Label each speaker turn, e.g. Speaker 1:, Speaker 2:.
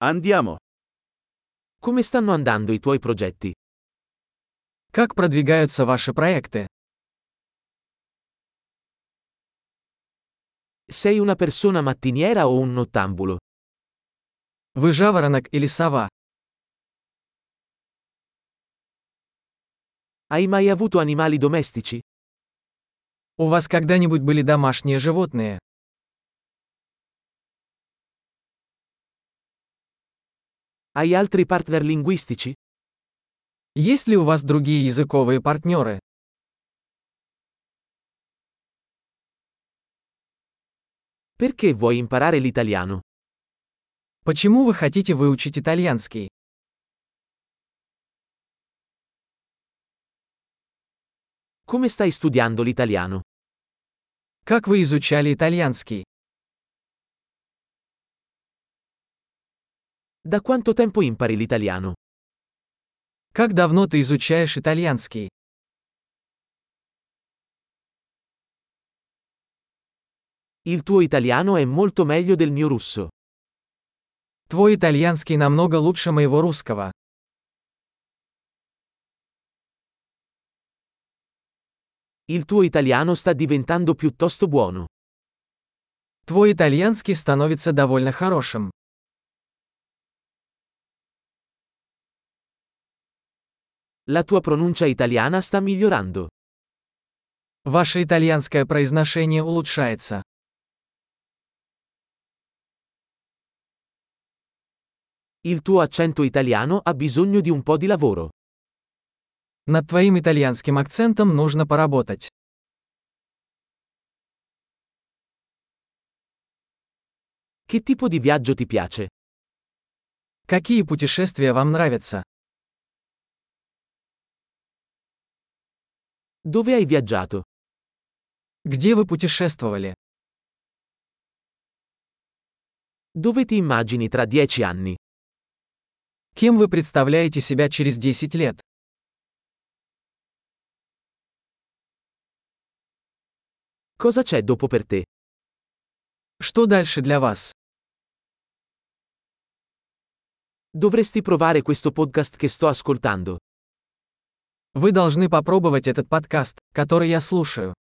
Speaker 1: Andiamo.
Speaker 2: Come stanno andando i tuoi progetti?
Speaker 3: Как продвигаются ваши проекты?
Speaker 2: Sei una persona mattiniera o un nottambulo?
Speaker 3: Вы жаворонок или сова?
Speaker 2: Hai mai avuto animali domestici?
Speaker 3: У вас когда-нибудь были домашние животные?
Speaker 2: Hai altri partner linguistici?
Speaker 3: Есть ли у вас другие языковые партнеры?
Speaker 2: Perché vuoi imparare l'italiano?
Speaker 3: Почему вы хотите выучить итальянский?
Speaker 2: Come stai studiando l'italiano?
Speaker 3: Как вы изучали итальянский?
Speaker 2: Da quanto tempo impari l'italiano?
Speaker 3: Как давно ты изучаешь итальянский?
Speaker 2: Il tuo italiano è molto meglio del mio russo.
Speaker 3: Твой итальянский намного лучше моего русского.
Speaker 2: Il tuo italiano sta diventando piuttosto buono.
Speaker 3: Твой итальянский становится довольно хорошим.
Speaker 2: La tua pronuncia italiana sta migliorando.
Speaker 3: Ваше итальянское произношение улучшается.
Speaker 2: Il tuo accento italiano ha bisogno di un po' di lavoro.
Speaker 3: Над твоим итальянским акцентом нужно поработать.
Speaker 2: Che tipo di viaggio ti piace?
Speaker 3: Какие путешествия вам нравятся?
Speaker 2: Dove hai viaggiato?
Speaker 3: Где вы путешествовали?
Speaker 2: Dove ti immagini tra 10 anni?
Speaker 3: Кем вы представляете себя через 10 лет?
Speaker 2: Cosa c'è dopo per te?
Speaker 3: Что дальше для вас?
Speaker 2: Dovresti provare questo podcast che sto ascoltando.
Speaker 3: Вы должны попробовать этот подкаст, который я слушаю.